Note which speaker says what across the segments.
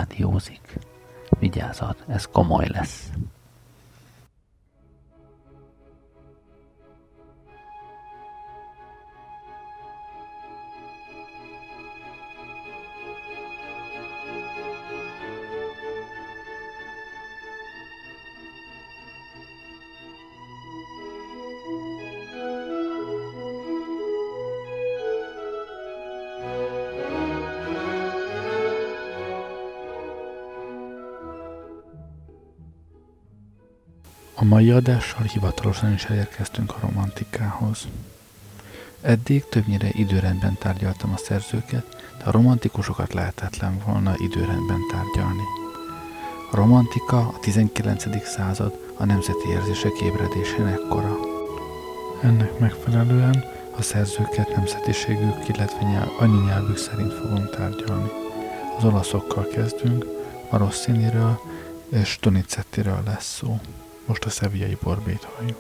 Speaker 1: rádiózik. Vigyázat, ez komoly lesz.
Speaker 2: A mai adással hivatalosan is elérkeztünk a romantikához. Eddig többnyire időrendben tárgyaltam a szerzőket, de a romantikusokat lehetetlen volna időrendben tárgyalni. A romantika a 19. század a nemzeti érzések ébredésének kora. Ennek megfelelően a szerzőket nemzetiségük, illetve anyanyelvük szerint fogom tárgyalni. Az olaszokkal kezdünk, a Rossiniről és Donizettiről lesz szó. Most a Sevillai Borbét halljuk.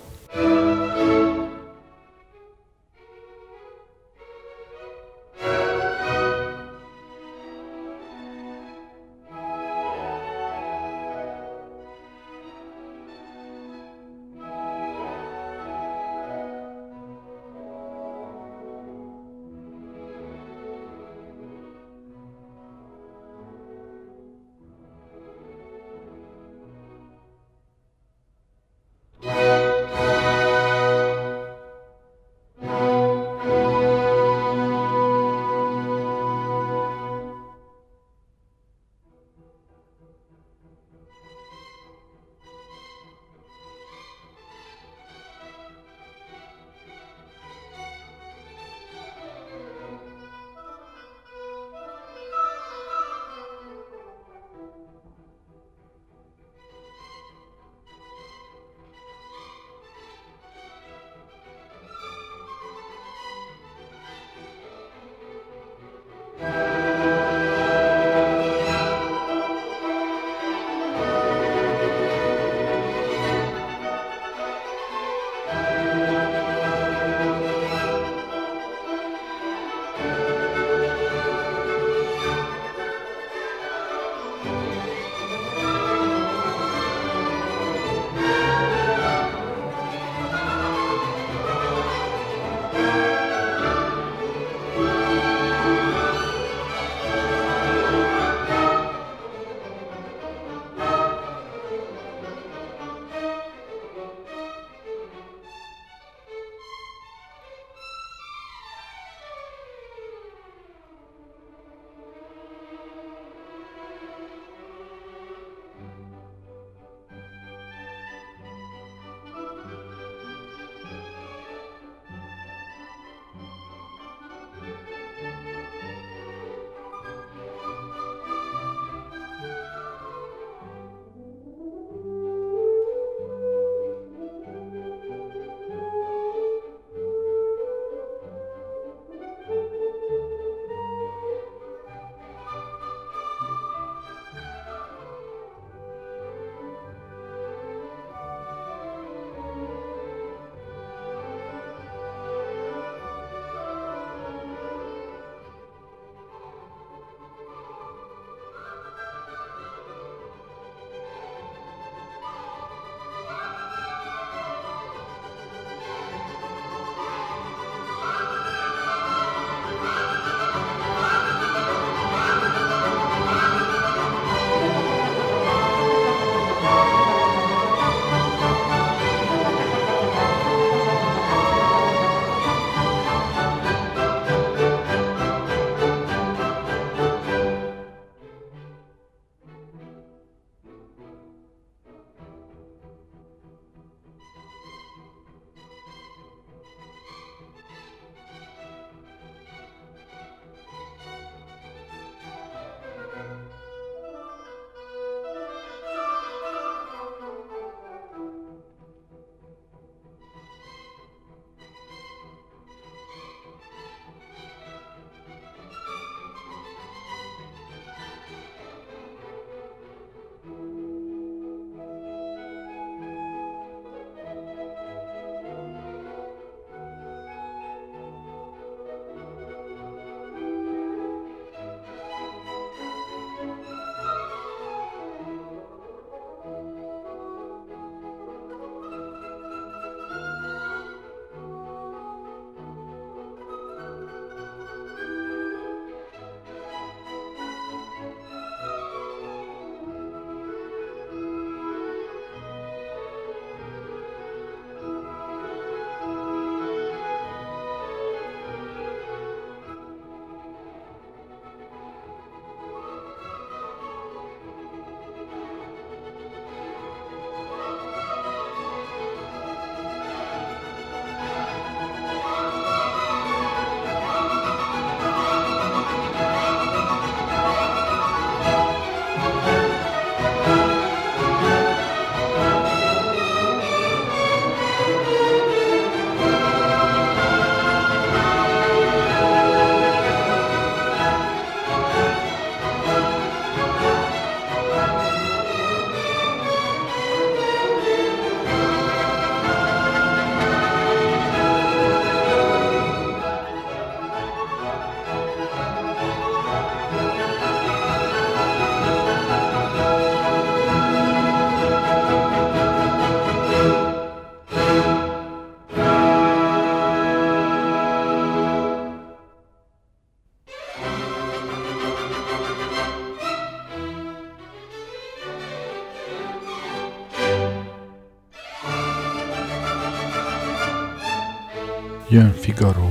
Speaker 2: Jön Figaro.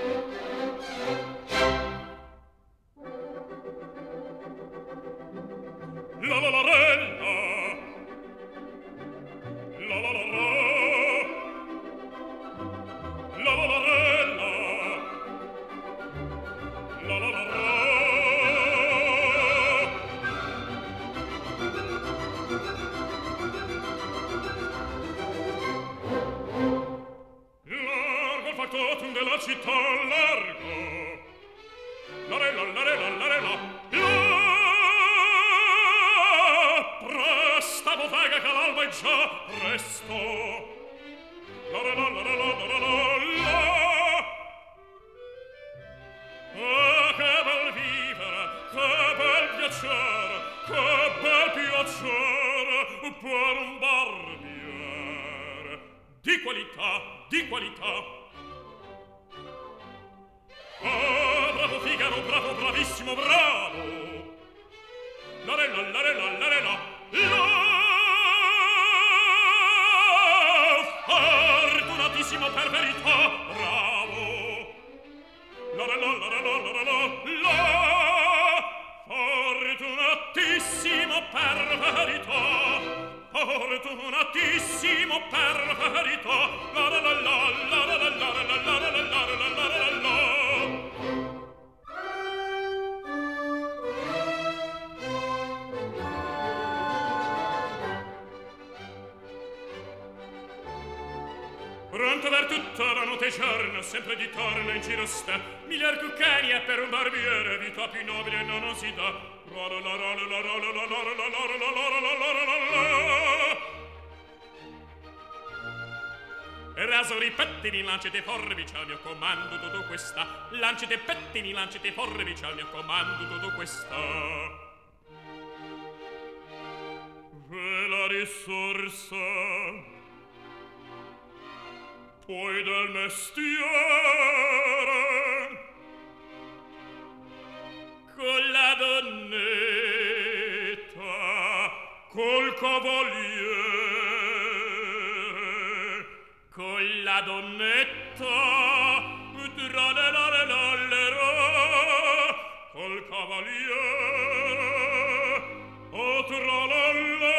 Speaker 3: Pronto per tutta la notte giorno, sempre di torno in giro sta, miglior cuccani è per un barbiere, vita più nobile non si dà. Rasori pettini, lancete forbici al mio comando, tutto questa. Lancete pettini, lancete forbici al mio comando, tutto questa. E la risorsa poi del mestiere con la donnetta, col cavaliere, con la donnetta, col cavaliere, o tralala.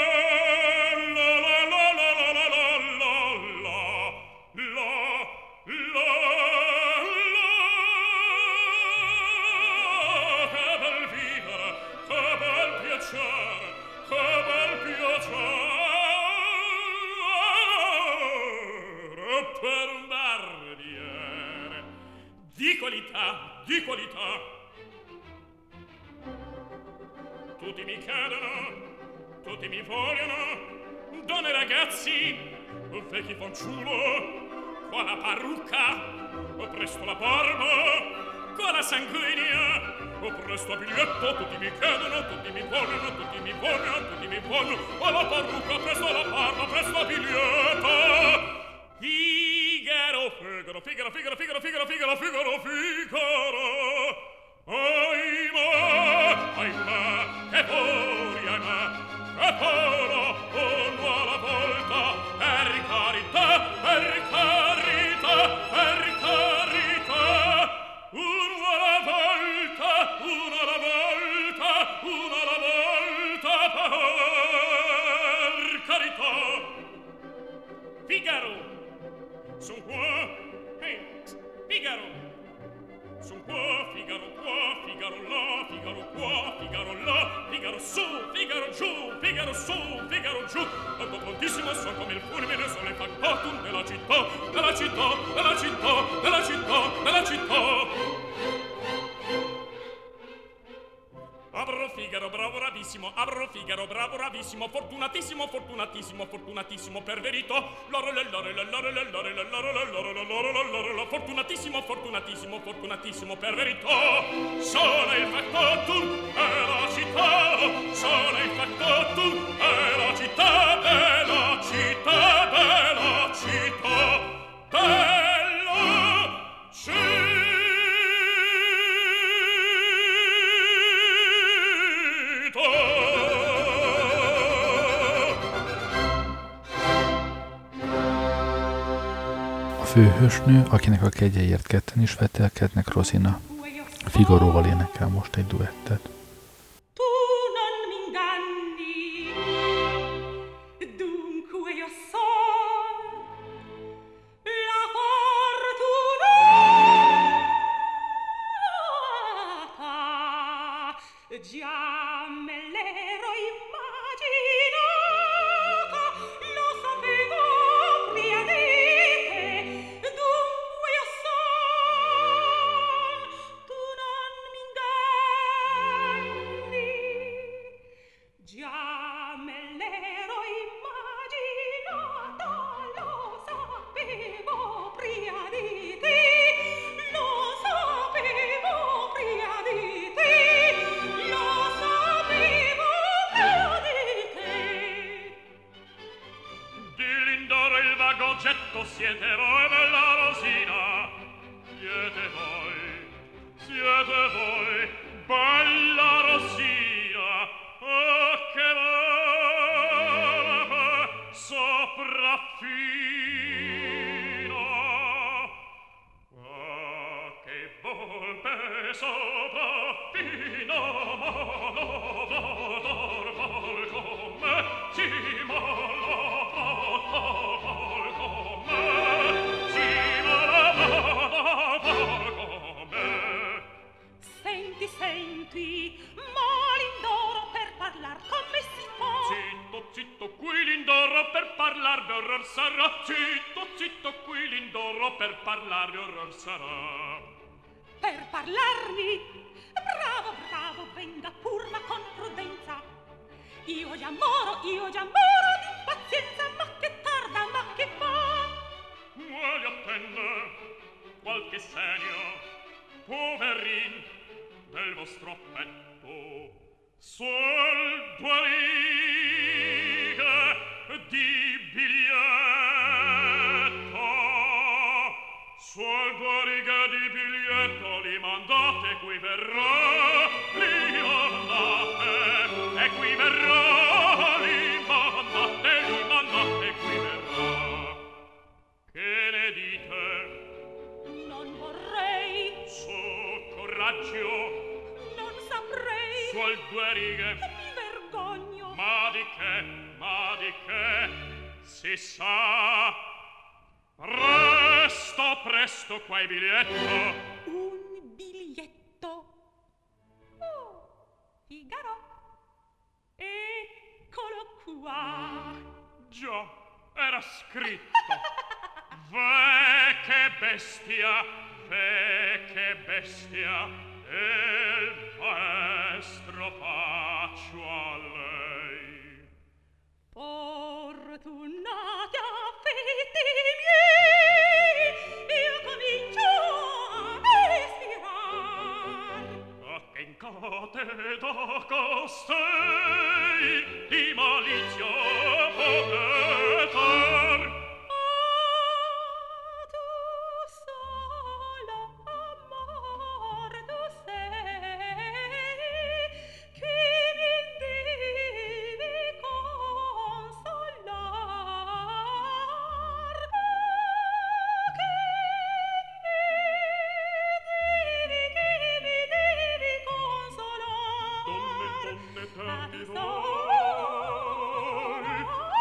Speaker 3: Di qualità. Tutti mi chiedono, tutti mi vogliono, donne e ragazzi, vecchi fanciullo, qua la parrucca, presto la barba, qua la sanguigna, presto a biglietto, tutti mi chiedono, tutti mi vogliono, tutti mi vogliono, tutti mi vogliono, qua la parrucca, presto la barba, presto a biglietto. Figaro, Figaro, Figaro, Figaro, Figaro, Figaro, Figaro, Figaro, Figaro. Ahimè, ahimè, che furia, ahimè, che polo, uno alla volta, per carità, per carità, per carità. Uno alla volta, uno alla volta, uno alla volta, per carità. Figaro. Son qua, Figaro. Son qua, Figaro qua, Figaro là, Figaro qua, Figaro là, Figaro su, Figaro giù, Figaro su, Figaro giù. Tanto prontissimo son come il fulmine, sono il factotum della città, della città, della città, della città, della città. Abro Figaro, bravo bravissimo, abro Figaro, bravo bravissimo, fortunatissimo, fortunatissimo, fortunatissimo, per verità. Fortunatissimo, fortunatissimo, fortunatissimo, per verità. Sono il factotum e la città, sono il factotum e la città, bella città, bella città, bella città.
Speaker 2: A főhősnő, akinek a kegyeiért ketten is vetelkednek, Rosina. Figaróval énekel most egy duettet.
Speaker 4: Per parlarmi, bravo, bravo, venga pur ma con prudenza. Io già moro di pazienza, ma che tarda, ma che fa?
Speaker 3: Vuole attendere qualche segno, poverin, del vostro affetto. Sol due righe di biglietto, sol due righe di biglietto, li mandate, qui verrà, li mandate, e qui verrà, li mandate, qui verrà. Che ne dite?
Speaker 4: Non vorrei,
Speaker 3: Su, coraggio,
Speaker 4: non saprei,
Speaker 3: suol due righe,
Speaker 4: mi vergogno.
Speaker 3: ma di che, si sa. Presto, qua il biglietto.
Speaker 4: Un biglietto. Oh, Figaro. Eccolo qua.
Speaker 3: Già, era scritto. Ve che bestia, e il maestro faccio a lei.
Speaker 4: Fortunati affetti miei, io comincio a respirar.
Speaker 3: A che incate da costei di malizia potetar.
Speaker 4: Tu solo amor tu sei, che mi devi consolar. Che mi devi consolar.
Speaker 3: Donne tanti
Speaker 4: Ah,
Speaker 3: voi.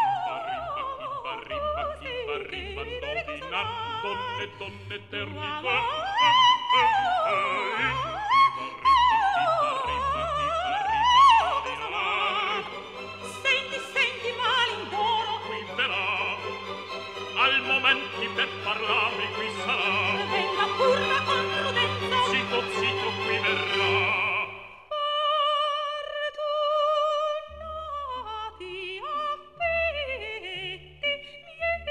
Speaker 3: Donne terni voi.
Speaker 4: Senti, malindoro.
Speaker 3: Qui verrà, al momenti per parlarmi qui sarà.
Speaker 4: Venga pur ma con prudenza.
Speaker 3: Zitto, qui verrà.
Speaker 4: Fortunati affetti miei,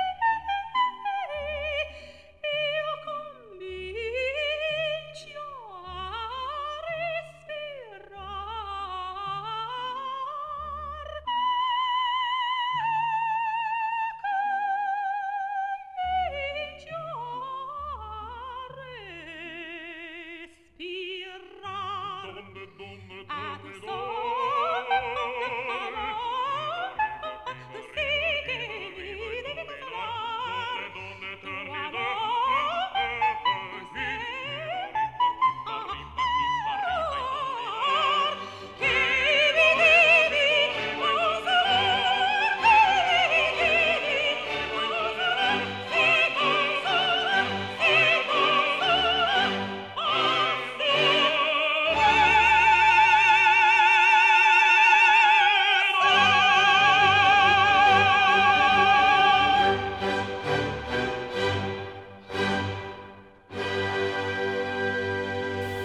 Speaker 4: io comincio a respirar. Comincio a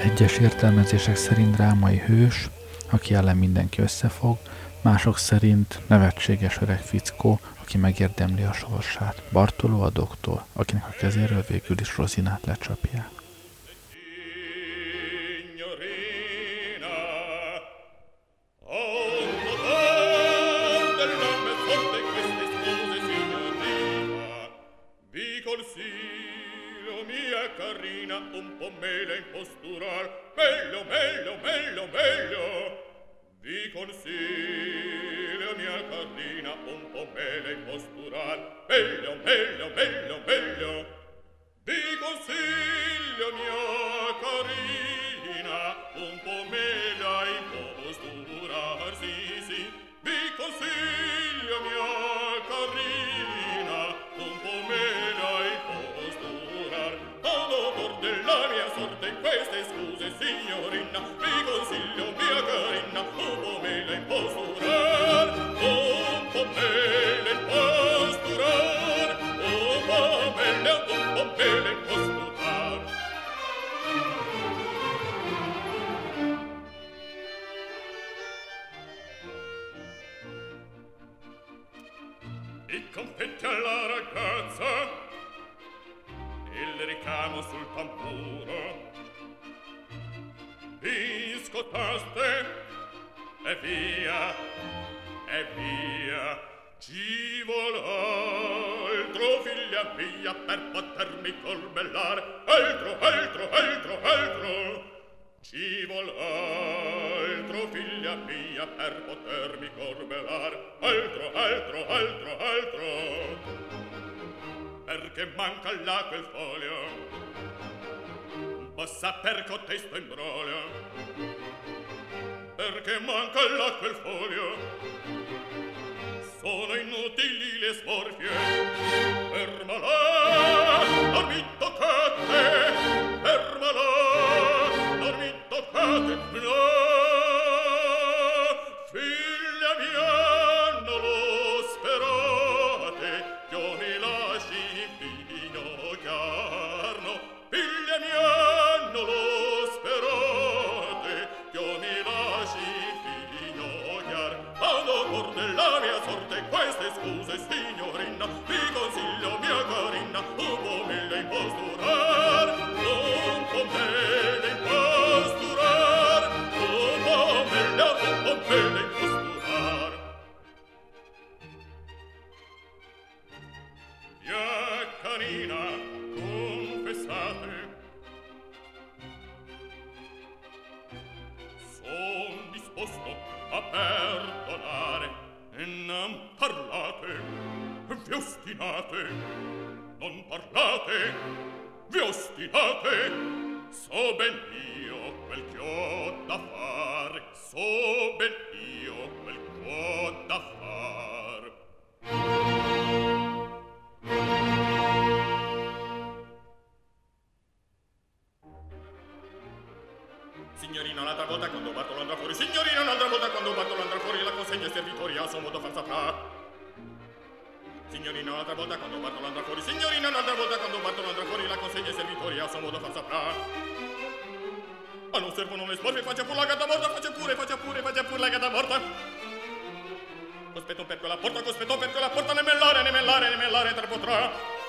Speaker 2: Egyes értelmezések szerint drámai hős, aki ellen mindenki összefog, mások szerint nevetséges öreg fickó, aki megérdemli a sorsát. Bartoló a doktor, akinek a kezéről végül is Rosinát lecsapják.
Speaker 3: Un po' mele in postural, meglio, meglio, meglio, meglio. Vi consiglio, mia carina, un po' mele in postural, meglio, meglio, meglio, meglio. Vi consiglio, mia carina, un po' mele in postural, sì, sì. Vi consiglio, mia carina, un po' mele in postural. Della mia sorte in queste scuse, signorina, vi consiglio, mia carina, un po' mele in posturar, un po' mele in posturar, un po' mele in posturar. I confetti alla ragazza, il ricamo sul tamburo, vi scottaste e via, ci vuol altro, figlia mia, per potermi corbellar, altro, altro, altro, altro, ci vuol altro, figlia mia, per potermi corbellar, altro, altro, altro, altro. Perché manca là quel foglio, possa per cotesto imbroglio. Perché manca là quel foglio, sono inutili le smorfie. Fermala, non mi toccate, fermala, non mi toccate, no. Figlia mia, non lo sperate, io mi lasci inginocchiarno. Figlia mia, non lo sperate, io mi lasci inginocchiar. Quando porte la mia sorte queste scuse, signorina, vi consiglio, mia carina, un po' mele in posturar, un po' mele in posturar, un po' mele in posturar. Mia carina, confessate, son disposto a perdonare, e non parlate, vi ostinate, non parlate, vi ostinate, so ben io quel che ho da fare, so ben io quel che ho da fare. Signorina, un'altra volta quando Bartolo andrà fuori, signorina, un'altra volta quando Bartolo andrà fuori, la consegna ai servitori a suo modo far saprà. Signorina, un'altra volta quando Bartolo andrà fuori, signorina, un'altra volta quando Bartolo andrà fuori, la consegna ai servitori a suo modo far saprà. Ma non servono le sporve, faccia pure la gatta morta, faccia pure la gatta morta. Cospetto per quella porta, ne mellare, tre potrà.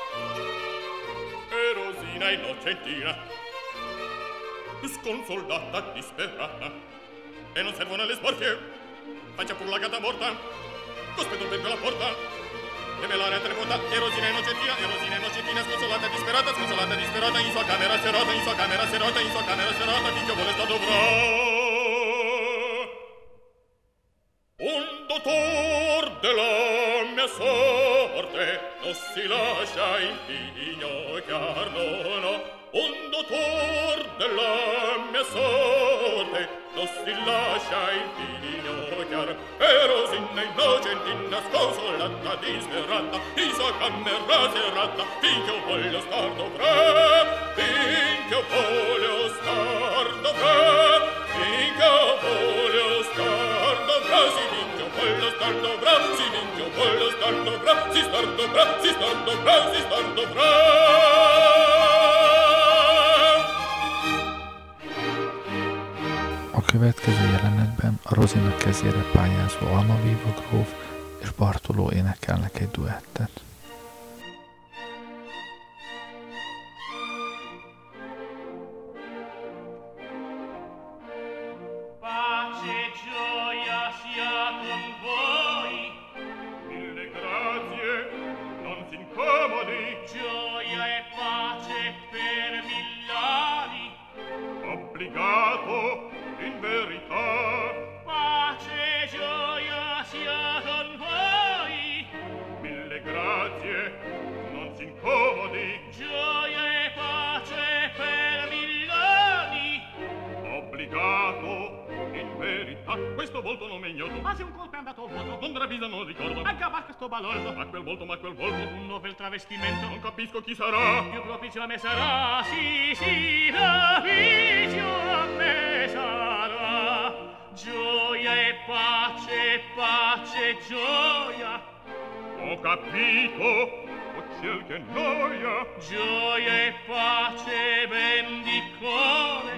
Speaker 3: E Rosina innocentina, sconsolata, disperata, e non servono le sporchie, faccia pure la gatta morta, cospetto per quella porta, e melare a tre porta, e Rosina innocentina, sconsolata, disperata, in sua camera serata, finché vuole sta dovrà. Un dottor della mia sorte non si lascia inginocchiar, no. Un dottor della mia sorte non si lascia inginocchiar. E Rosina innocentina, sconsolata, disperata, in sua camera serata, finché voglio star dovrà, finché voglio star dovrà, finché voglio star dovrà, si finché voglio star dovrà, si finché voglio star dovrà, si star dovrà, si star dovrà, si star dovrà.
Speaker 2: következő jelenetben a Rozina kezére pályázó Almaviva gróf és Bartoló énekelnek egy duettet.
Speaker 3: Ma quel volto, un novel travestimento, non capisco chi sarà. Più propicio a me sarà, sì, propicio a me sarà. Gioia e pace, gioia. Ho capito, oh ciel che noia. Gioia e pace, bendizione.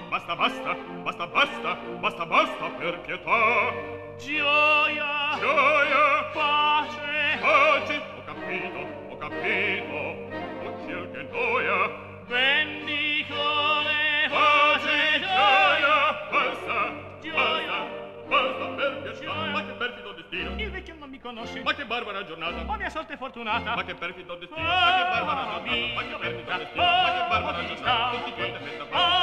Speaker 3: Basta, per pietà. Gioia, pace, ho capito, oh ciel che noia. Bendizione, pace, gioia, basta, per piacere. Ma che perfido destino. Il vecchio non mi conosce. Ma che barbara giornata. Oh, mia sorte fortunata. Ma che perfido destino. Ma che barbara giornata. Ma che perfido destino. Ma che barbara giornata. Tutti quante festa.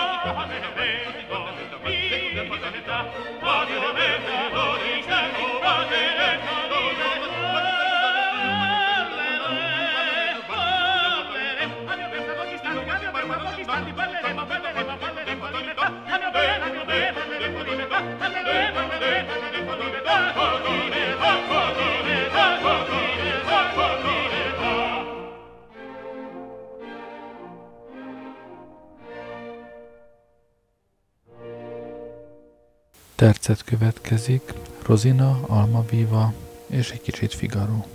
Speaker 2: Tercet következik, Rozina, Almaviva és egy kicsit Figaro.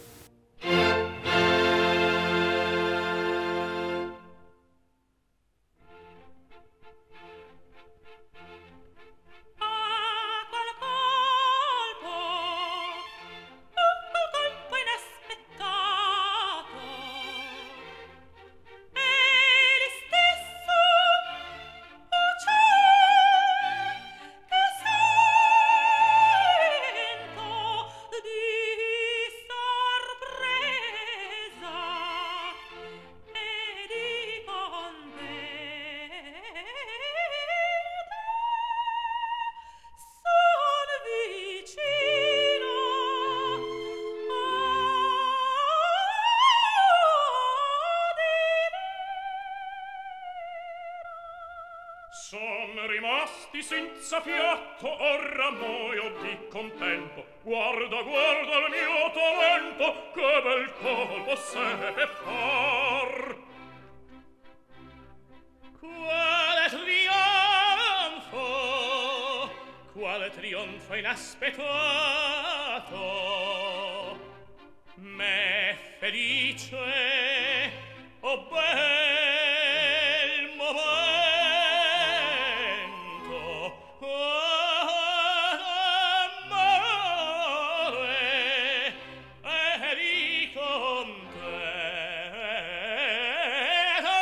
Speaker 5: Son rimasti senza fiato, ora muoio di contento. Guarda, guarda il mio talento, che bel colpo seppe far. Quale trionfo inaspettato. Me felice, oh bel momento, amore, eri contento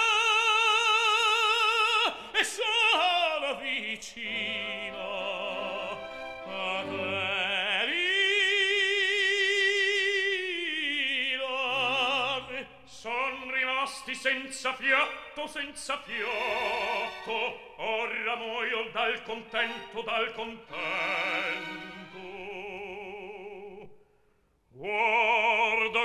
Speaker 5: e sono vicino a te. Senza fiato, ora muoio dal contento, Guarda,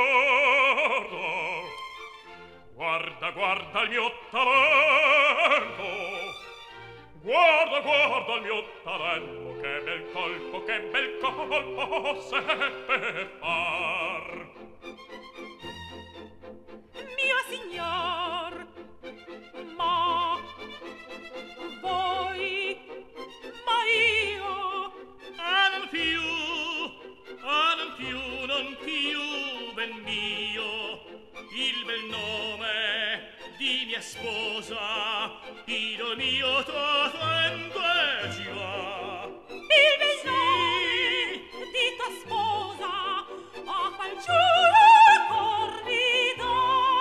Speaker 5: guarda, guarda il mio talento. Guarda, guarda il mio talento, che bel colpo seppe far.
Speaker 4: Mio signor, ma voi, ma io,
Speaker 5: non più, ben mio, il bel nome di mia sposa, il mio talento è
Speaker 4: sposa a qual giuro corrido.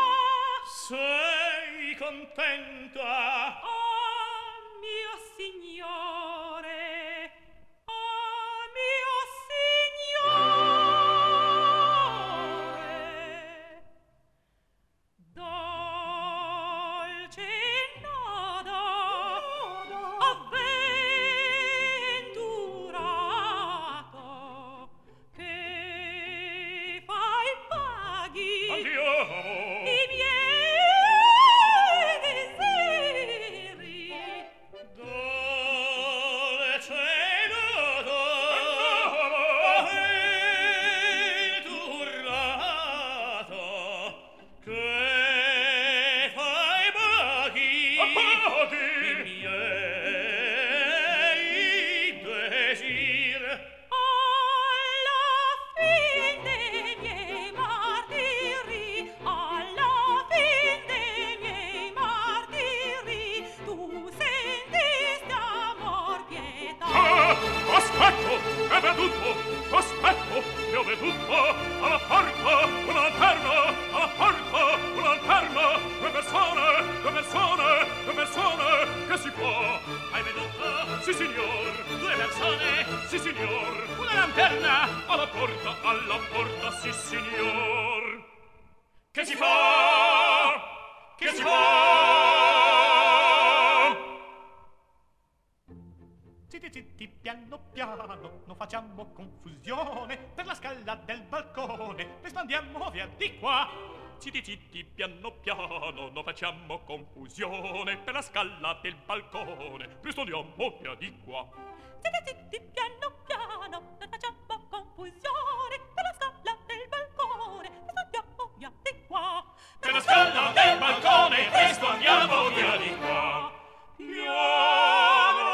Speaker 5: Sei contenta?
Speaker 4: Oh, mio signore, oh, mio signore, dolce nodo, avventurato, che fai paghi
Speaker 5: Andiamo!
Speaker 4: i miei desideri.
Speaker 5: Dolce nodo, avventurato, che fai paghi i miei desir.
Speaker 4: Alla fin dei miei martiri, alla fin dei miei martiri, tu sentiste amor pietà.
Speaker 5: Aspetto, è veduto, aspetto, che ho veduto, alla porta, una lanterna, alla porta, una lanterna, due persone, che si può? Hai veduto? Sì, signor, due persone, sì, signor, una lanterna, alla porta, sì, signor. Che si fa? Che si fa?
Speaker 3: Zitti, zitti, piano, piano, non facciamo confusione per la scala del balcone, presto andiamo via di qua.
Speaker 5: Zitti, zitti, piano, piano, non facciamo confusione per la scala del balcone. Presto andiamo via di qua.
Speaker 4: Zitti, zitti, piano, piano, non facciamo confusione per la scala del balcone, presto andiamo via di qua.
Speaker 5: Per la scala del balcone, presto andiamo via di qua. Piano,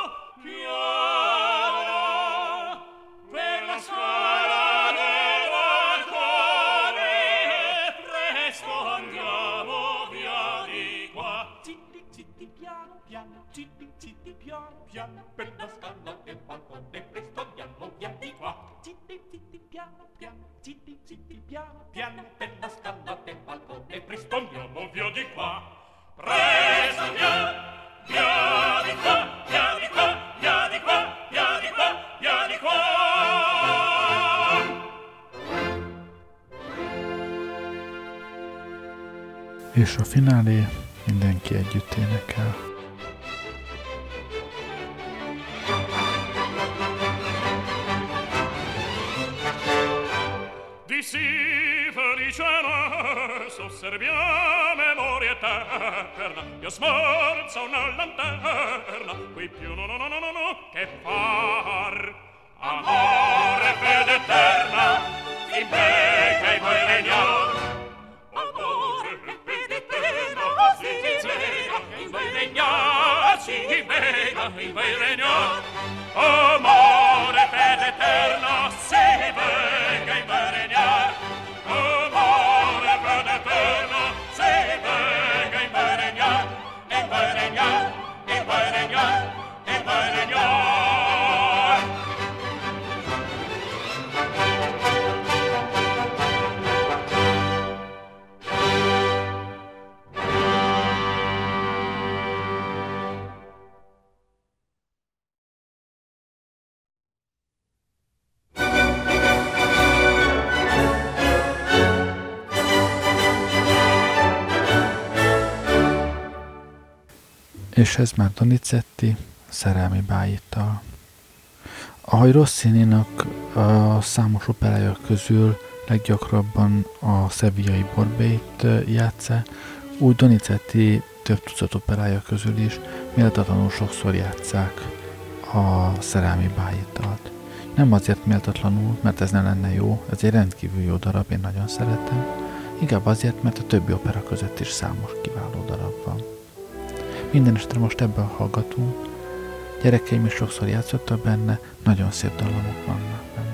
Speaker 5: piano, per la scala del balcone, presto andiamo via di qua.
Speaker 3: Zitti, zitti, piano, piano, zitti, zitti, piano, piano, per la scala del balcone, presto andiamo via di qua. Zitti, zitti, piano, piano, zitti, zitti, piano, piano, per la scala del balcone, presto
Speaker 5: Andiamo via di qua. Presto andiamo via di qua, via di qua, via di qua, via di qua, via di qua.
Speaker 2: És a finálé mindenki együtt énekel.
Speaker 5: Di sì felicena s'osservia memoria eterna, io smorza una lanterna, qui più no che far amore fede eterna, in me che vuoi regnar.
Speaker 4: Amore, fede eterna, si vega,
Speaker 5: in vuoi regnar, si vega, in vuoi regnar. Amore fede eterna, si vega, in vuoi regnar. Amore fede eterna, si vega, in vuoi regnar, in vuoi regnar, in vuoi regnar, in vuoi regnar.
Speaker 2: És ez már Donizetti szerelmi bájittal. Ahogy Rossininak a számos operája közül leggyakrabban a szevillai Borbélyt játsza, úgy Donizetti több tucat operája közül is méltatlanul sokszor játsszák a szerelmi bájitalt. Nem azért méltatlanul, mert ez ne lenne jó, ez egy rendkívül jó darab, én nagyon szeretem, inkább azért, mert a többi opera között is számos kiváló darab van. Mindenesetre most ebben hallgatunk. Gyerekeim is sokszor játszottak benne, nagyon szép dallamok vannak benne.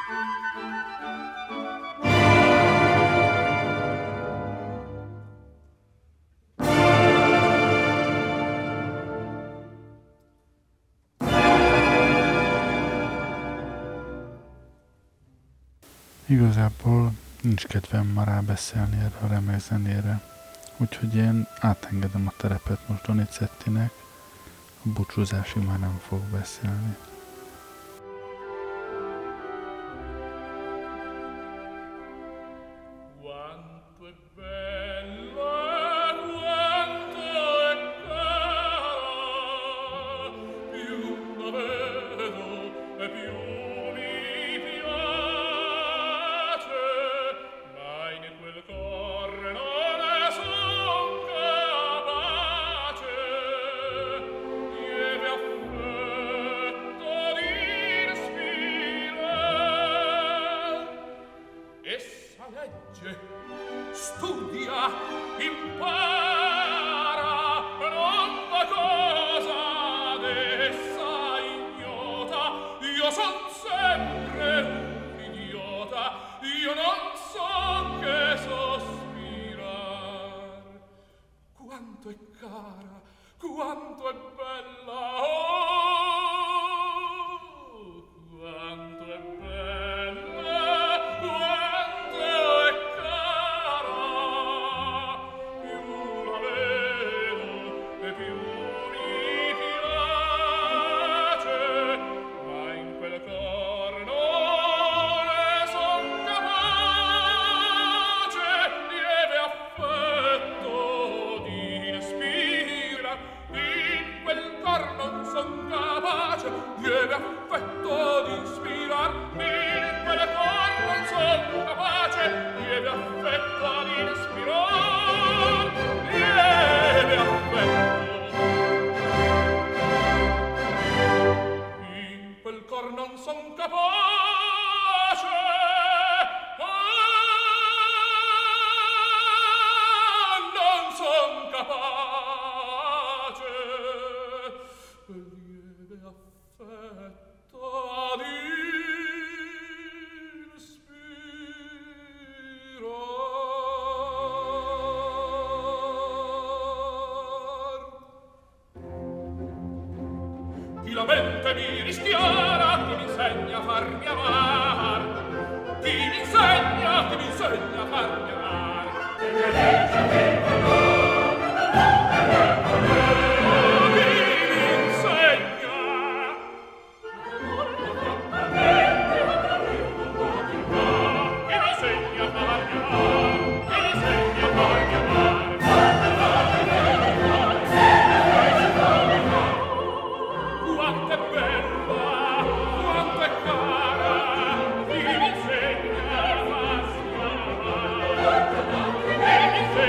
Speaker 2: Igazából nincs kedvem ma rábeszélni erre a remek zenére, úgyhogy én átengedem a terepet most Donizettinek, a búcsúzásig már nem fog beszélni.
Speaker 5: La mente mi rischiara, che mi insegna a farmi amar. Chi mi insegna a farmi amar. Chi mi insegna? Chi mi insegna?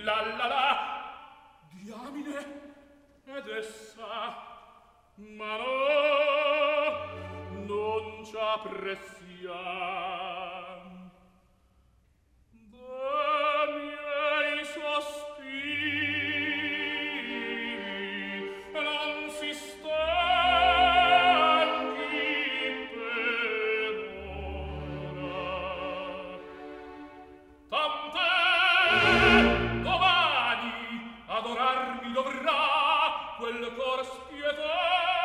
Speaker 3: La la la, diamine, ed essa, ma no, non ci appressiam. Da miei sospiri non si stanchi per ora. Tant'è, domani adorarmi dovrà quel cor spietato.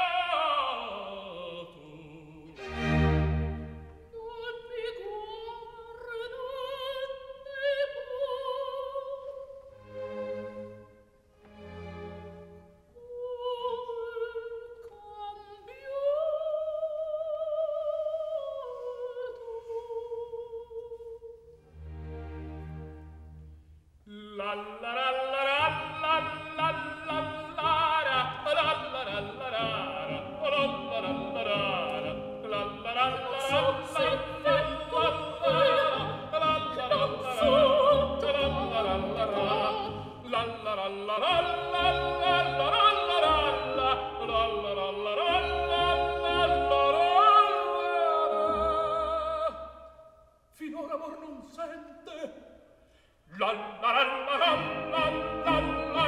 Speaker 3: Finora amor non sente. La la la la la la la la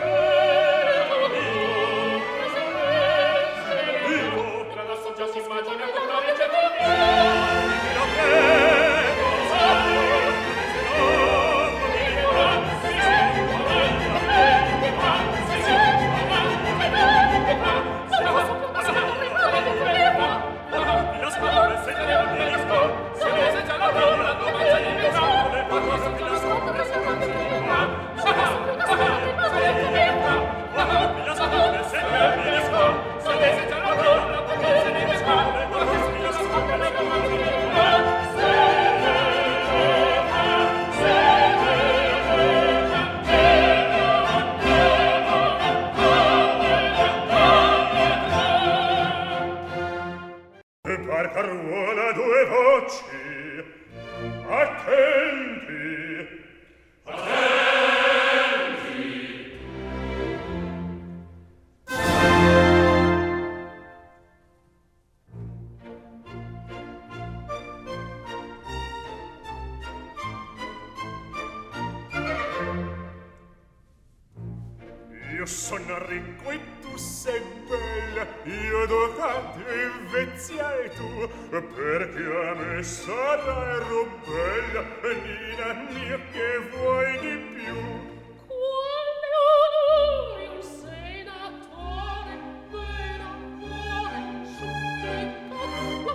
Speaker 5: Già si immagina io sono ricco e tu sei bella, io dotato e veziai tu, perché a me sarai bella, Nina mia, che vuoi di più?
Speaker 6: Quale onore un senatore, per amore, supplica,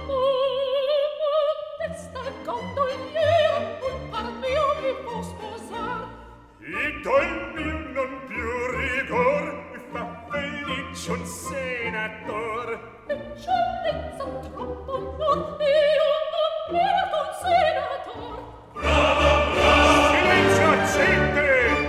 Speaker 6: testa gondoliera, un par mio mi può sposar.
Speaker 5: Ed al mio non più rigor, fa felice un senator.
Speaker 6: Eccellenza troppo non, io non merito un senator.
Speaker 5: Silenzio, gente!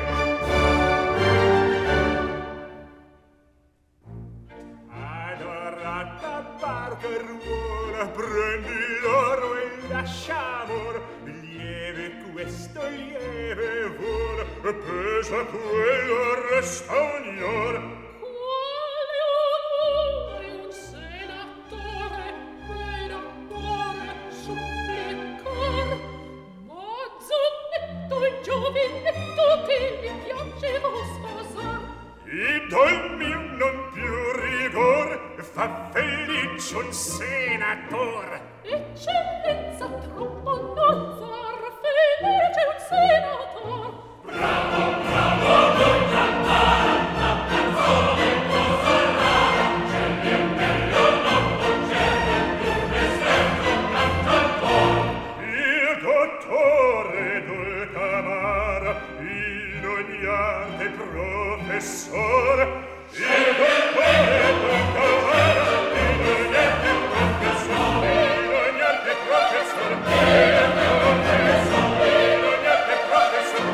Speaker 5: Adorata barca ruola, prendi l'oro e lasciamor, lieve questo lieve vola, pesa quello resta ognor.
Speaker 6: Quale onore un senatore, per amore, supplicar, ma zonnetto e giovinetto che mi piacevo sposar.
Speaker 5: Ed al mio non più rigor, fa felice un senator.
Speaker 6: Eccellenza troppo non far felice un senator.
Speaker 5: Il dottore Dulcamara, in ogni arte professor, il dottore Dulcamara, in ogni arte professor, in ogni arte professor, in ogni arte professor,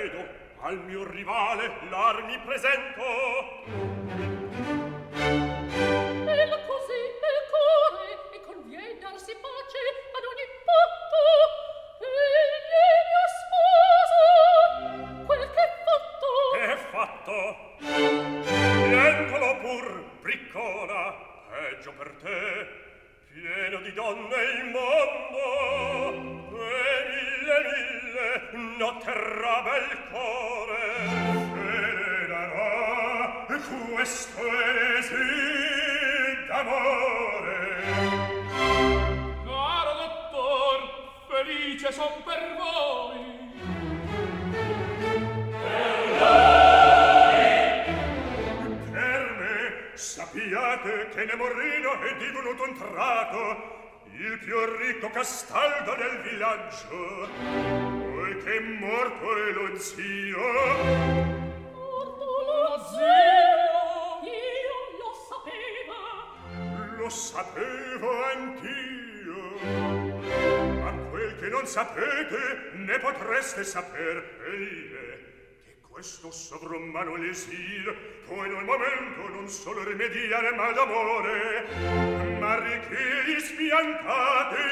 Speaker 3: vedo, al mio rivale l'armi presento.
Speaker 6: E la così è il cuore, e conviene darsi pace ad ogni patto. Egli mio sposo, quel che è fatto.
Speaker 3: È fatto. Nientolo pur, briccona, peggio per te. Pieno di donne il mondo, e mille n'otterrà bel cuore. E ne darà questo esil d'amore.
Speaker 5: Caro dottor, felice son per voi.
Speaker 3: Sappiate che Nemorino è divenuto un trato, il più ricco castaldo del villaggio, poiché morto è lo zio.
Speaker 6: Morto lo zio, io lo
Speaker 3: sapevo anch'io. Ma quel che non sapete ne potreste saper, questo sovrumano l'esil può in un momento non solo rimediare mal d'amore, ma ricchi spiantati.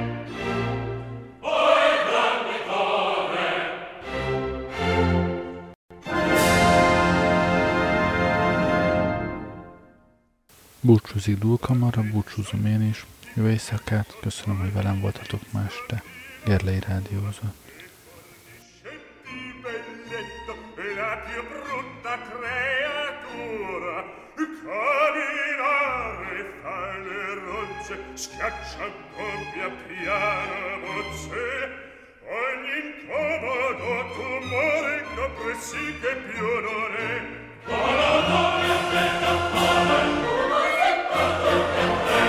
Speaker 3: Oi grande torre!
Speaker 2: Búcsúzik Dúlkamara, búcsúzom én is. Jó éjszakát, köszönöm, hogy velem voltatok ma este. Gerlei rádiózott.
Speaker 3: La più brutta creatura, camminare fra le rozze, schiaccia doppia piana bozze, ogni incomodo tumore d'oppressi che più non è. Volodore aspetta come uno settato che tre.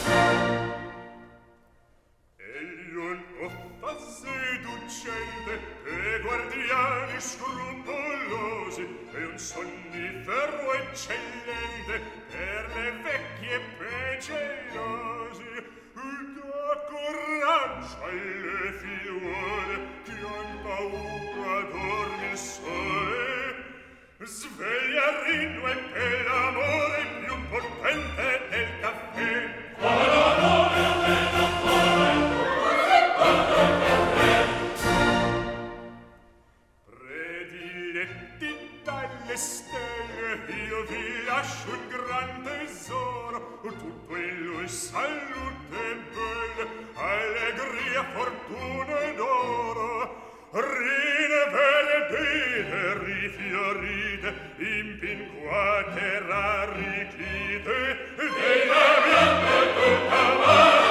Speaker 3: Egli un uffa seducente e guardiani scrupolosi e un sonnifero eccellente per le vecchie pegelosi. Da coraggio alle figliuole che han paura dormir sole. Sveglia Rino e per l'amore più potente del caffè. Volodore appena cuore, prediletti dalle stelle, io vi lascio un gran tesoro, tutto in lui salute belle, allegria, fortuna ed oro. Rine vere rifiorite, impinquate, rarrichite, della mia tutta